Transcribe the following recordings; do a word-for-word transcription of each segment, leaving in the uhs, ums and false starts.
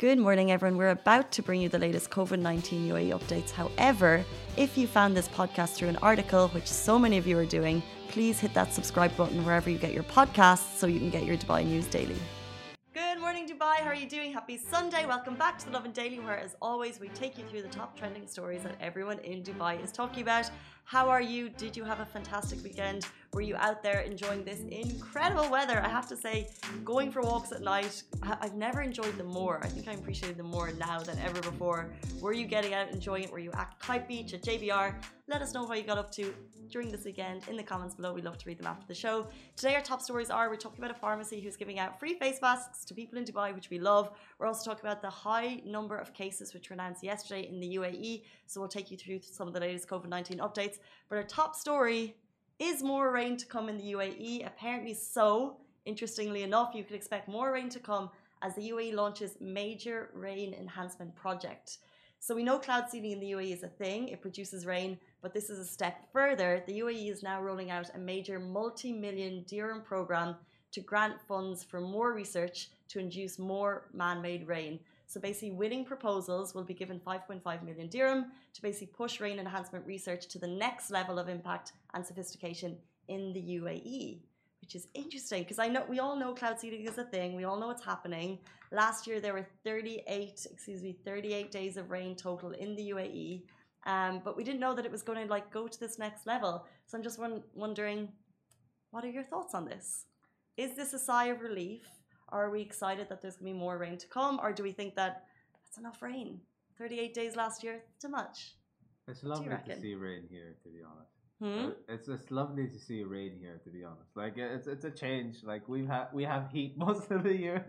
Good morning, everyone. We're about to bring you the latest COVID nineteen U A E updates. However, if you found this podcast through an article, which so many of you are doing, please hit that subscribe button wherever you get your podcasts so you can get your Dubai news daily. Good morning, Dubai. How are you doing? Happy Sunday. Welcome back to the Lovin Daily, where, as always, we take you through the top trending stories that everyone in Dubai is talking about. How are you? Did you have a fantastic weekend? Were you out there enjoying this incredible weather? I have to say, going for walks at night, I've never enjoyed them more. I think I appreciate them more now than ever before. Were you getting out enjoying it? Were you at Kite Beach, at J B R? Let us know what you got up to during this weekend in the comments below. We'd love to read them after the show. Today, our top stories are, we're talking about a pharmacy who's giving out free face masks to people in Dubai, which we love. We're also talking about the high number of cases which were announced yesterday in the U A E. So we'll take you through some of the latest COVID nineteen updates. But our top story is more rain to come in the U A E. Apparently so. Interestingly enough, you could expect more rain to come as the U A E launches major rain enhancement project. So we know cloud seeding in the U A E is a thing. It produces rain, but this is a step further. The U A E is now rolling out a major multi-million dirham program to grant funds for more research to induce more man-made rain. So basically, winning proposals will be given five point five million dirham to basically push rain enhancement research to the next level of impact and sophistication in the U A E, which is interesting because I know we all know cloud seeding is a thing. We all know it's happening. Last year there were thirty-eight, excuse me, thirty-eight days of rain total in the U A E, um, but we didn't know that it was going to like go to this next level. So I'm just wondering, what are your thoughts on this? Is this a sigh of relief? Are we excited that there's going to be more rain to come? Or do we think that that's enough rain? thirty-eight days last year, too much. It's lovely to see rain here, to be honest. Hmm? Uh, It's just lovely to see rain here, to be honest. Like it's it's a change. Like we've had we have heat most of the year,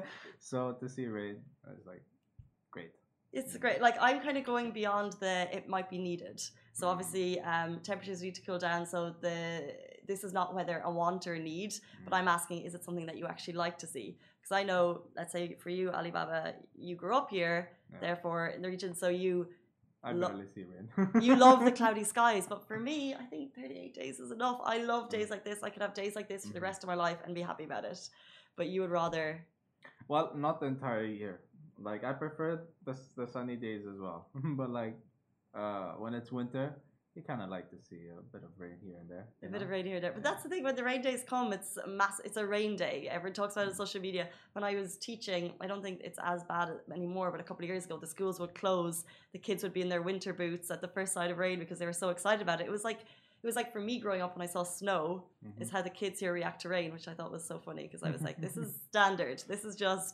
so to see rain is like great. It's great. Like I'm kind of going beyond the it might be needed. So obviously, um, temperatures need to cool down. So the this is not whether a want or a need, but I'm asking, is it something that you actually like to see? Because I know, let's say for you, Alibaba, you grew up here, Yeah. therefore in the region, so you I lo- barely see rain. you love the cloudy skies. But for me, I think thirty-eight days is enough. I love days like this. I could have days like this for the rest of my life and be happy about it. But you would rather. Well, not the entire year. Like I prefer the the sunny days as well. But like uh, when it's winter, you kind of like to see a bit of rain here and there. A you bit know? of rain here and there. But that's the thing, when the rain days come, it's a mass it's a rain day. Everyone talks about it on social media. When I was teaching, I don't think it's as bad anymore, but a couple of years ago the schools would close. The kids would be in their winter boots at the first sight of rain because they were so excited about it. It was like it was like for me growing up when I saw snow, Mhm. is how the kids here react to rain, which I thought was so funny because I was like, this is standard. This is just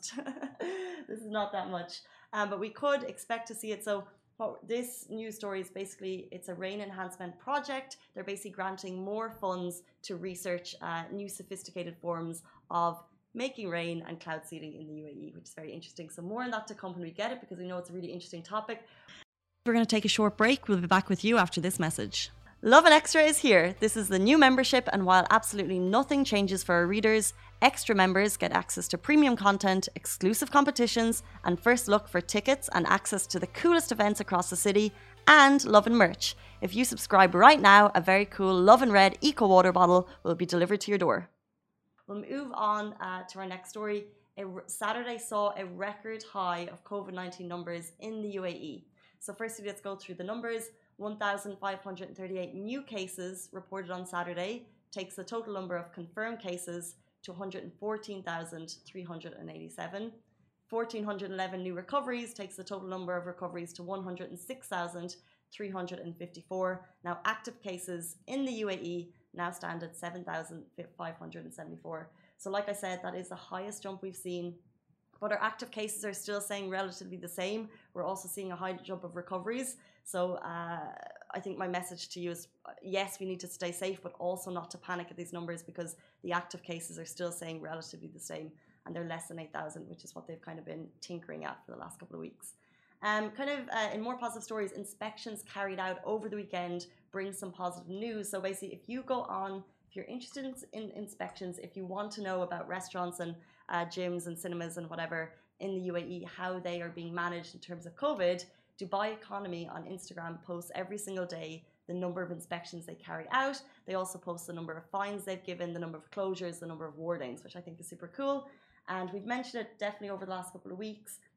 this is not that much. Um, but we could expect to see it. So what this news story is basically, it's a rain enhancement project. They're basically granting more funds to research uh, new sophisticated forms of making rain and cloud seeding in the U A E, which is very interesting. So more on that to come when we get it, because we know it's a really interesting topic. We're going to take a short break. We'll be back with you after this message. Lovin Extra is here. This is the new membership, and while absolutely nothing changes for our readers, extra members get access to premium content, exclusive competitions, and first look for tickets and access to the coolest events across the city, and Lovin merch. If you subscribe right now, a very cool Lovin Red Eco Water bottle will be delivered to your door. We'll move on uh, to our next story. A Saturday saw a record high of COVID nineteen numbers in the U A E. So firstly, let's go through the numbers. one thousand five hundred thirty-eight new cases reported on Saturday, takes the total number of confirmed cases to one hundred fourteen thousand three hundred eighty-seven. one thousand four hundred eleven new recoveries takes the total number of recoveries to one hundred six thousand three hundred fifty-four. Now active cases in the U A E now stand at seven thousand five hundred seventy-four. So like I said, that is the highest jump we've seen. But our active cases are still staying relatively the same. We're also seeing a high jump of recoveries. So uh, I think my message to you is, yes, we need to stay safe, but also not to panic at these numbers, because the active cases are still staying relatively the same, and they're less than eight thousand, which is what they've kind of been tinkering at for the last couple of weeks. Um, kind of uh, in more positive stories, inspections carried out over the weekend bring some positive news. So basically, if you go on, if you're interested in, in inspections, if you want to know about restaurants and uh, gyms and cinemas and whatever in the U A E, how they are being managed in terms of COVID, Dubai Economy on Instagram posts every single day the number of inspections they carry out. They also post the number of fines they've given, the number of closures, the number of wardings, which I think is super cool. And we've mentioned it definitely over the last couple of weeks.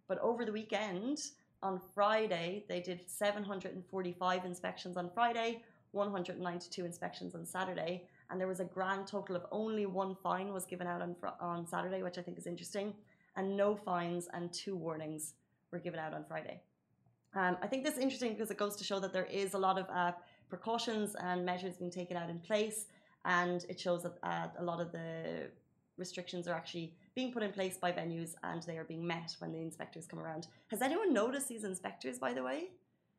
But over the weekend, on Friday, they did seven hundred forty-five inspections on Friday, one hundred ninety-two inspections on Saturday, and there was a grand total of only one fine was given out on, on Saturday, which I think is interesting, and no fines and two warnings were given out on Friday. Um, I think this is interesting because it goes to show that there is a lot of uh, precautions and measures being taken out in place, and it shows that uh, a lot of the restrictions are actually being put in place by venues and they are being met when the inspectors come around. Has anyone noticed these inspectors, by the way?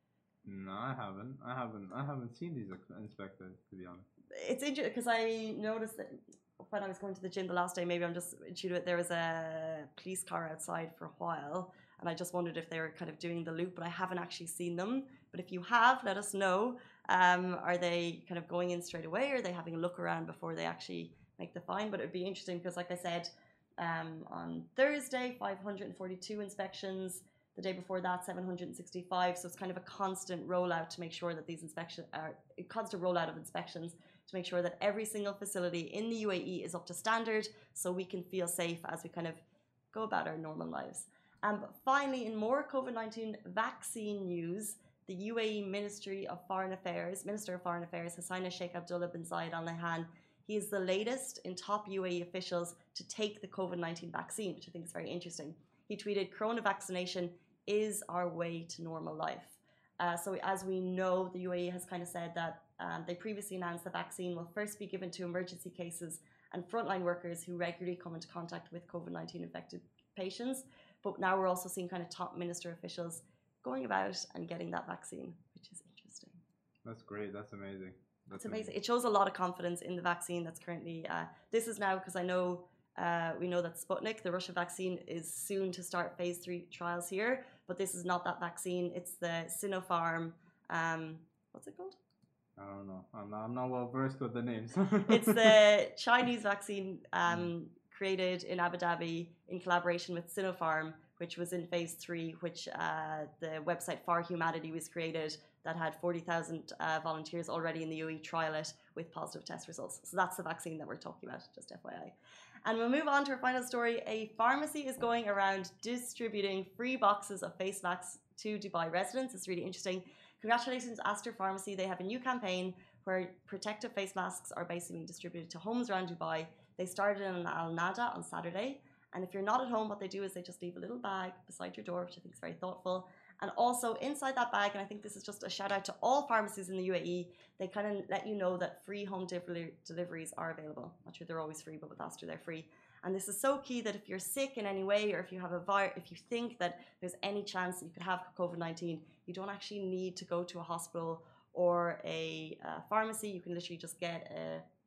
No, I haven't. I haven't. I haven't seen these inspectors, to be honest. It's interesting because I noticed that when I was going to the gym the last day, maybe I'm just into it, there was a police car outside for a while, and I just wondered if they were kind of doing the loop, but I haven't actually seen them. But if you have, let us know. Um, are they kind of going in straight away, or are they having a look around before they actually make the fine? But it'd be interesting because, like I said, um, on Thursday, five hundred forty-two inspections. The day before that, seven hundred sixty-five. So it's kind of a constant rollout to make sure that these inspections are a constant rollout of inspections to make sure that every single facility in the U A E is up to standard, so we can feel safe as we kind of go about our normal lives. Um, but finally, in more COVID nineteen vaccine news, the U A E Ministry of Foreign Affairs, Minister of Foreign Affairs, Hussaina Sheikh Abdullah bin Zayed Al Nahyan, he is the latest in top U A E officials to take the COVID nineteen vaccine, which I think is very interesting. He tweeted, "Corona vaccination is our way to normal life." Uh, so as we know, the U A E has kind of said that um, they previously announced the vaccine will first be given to emergency cases and frontline workers who regularly come into contact with COVID nineteen infected patients. But now we're also seeing kind of top minister officials going about and getting that vaccine, which is interesting. That's great. That's amazing. That's it's amazing. amazing. It shows a lot of confidence in the vaccine that's currently, uh, this is now because I know Uh, we know that Sputnik, the Russian vaccine, is soon to start phase three trials here, but this is not that vaccine. It's the Sinopharm, um, what's it called? I don't know. I'm not, I'm not well versed with the names. It's the Chinese vaccine um, created in Abu Dhabi in collaboration with Sinopharm, which was in phase three, which uh, the website For Humanity was created that had forty thousand uh, volunteers already in the U A E trial it with positive test results. So that's the vaccine that we're talking about, just F Y I. And we'll move on to our final story. A pharmacy is going around distributing free boxes of face masks to Dubai residents. It's really interesting. Congratulations, Aster Pharmacy. They have a new campaign where protective face masks are basically being distributed to homes around Dubai. They started in Al Nada on Saturday. And if you're not at home, what they do is they just leave a little bag beside your door, which I think is very thoughtful. And also inside that bag, and I think this is just a shout out to all pharmacies in the U A E, they kind of let you know that free home delivery deliveries are available. Not sure they're always free, but with Aster they're free. And this is so key that if you're sick in any way, or if you have a virus, if you think that there's any chance that you could have COVID nineteen, you don't actually need to go to a hospital or a uh, pharmacy. You can literally just get a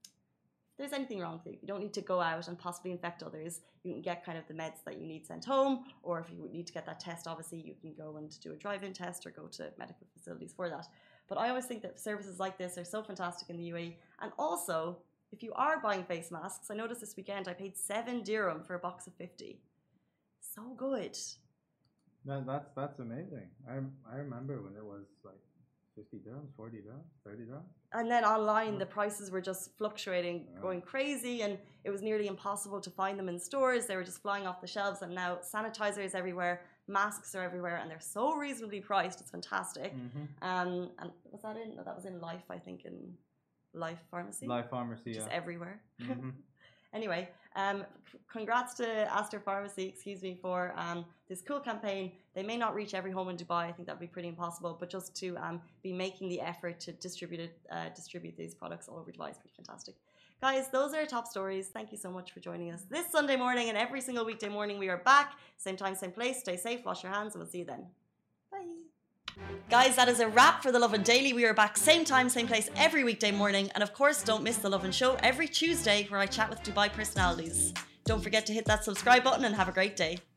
if there's anything wrong with you, you don't need to go out and possibly infect others. You can get kind of the meds that you need sent home, or if you need to get that test, obviously you can go and do a drive-in test or go to medical facilities for that. But I always think that services like this are so fantastic in the U A E. And also, if you are buying face masks, I noticed this weekend I paid seven dirham for a box of fifty. So good. That, that's that's amazing. I I remember when it was like fifty dirhams, forty dirhams, thirty dirhams. And then online, the prices were just fluctuating, yeah. going crazy, and it was nearly impossible to find them in stores. They were just flying off the shelves, and now sanitizer is everywhere, masks are everywhere, and they're so reasonably priced. It's fantastic. Mm-hmm. Um, and was that in? No, that was in Life, I think, in Life Pharmacy. Life Pharmacy, which yeah. is everywhere. Mm-hmm. Anyway, um, congrats to Aster Pharmacy, excuse me, for um, this cool campaign. They may not reach every home in Dubai. I think that would be pretty impossible, but just to um, be making the effort to distribute it, uh, distribute these products all over Dubai is pretty fantastic. Guys, those are our top stories. Thank you so much for joining us this Sunday morning, and every single weekday morning we are back. Same time, same place. Stay safe, wash your hands, and we'll see you then. Bye. Guys, that is a wrap for The Lovin Daily. We are back same time, same place every weekday morning. And of course, don't miss The Lovin Show every Tuesday where I chat with Dubai personalities. Don't forget to hit that subscribe button and have a great day.